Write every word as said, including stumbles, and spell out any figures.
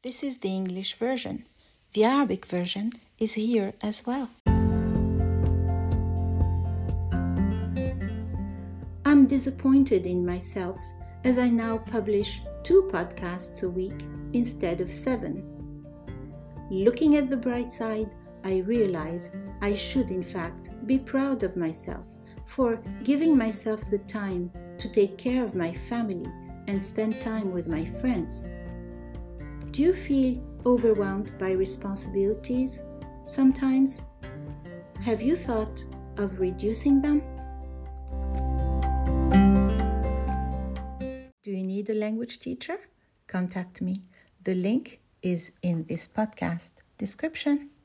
This is the English version. The Arabic version is here as well. I'm disappointed in myself as I now publish two podcasts a week instead of seven. Looking at the bright side, I realize I should in fact be proud of myself for giving myself the time to take care of my family and spend time with my friends. Do you feel overwhelmed by responsibilities sometimes? Have you thought of reducing them? Do you need a language teacher? Contact me. The link is in this podcast description.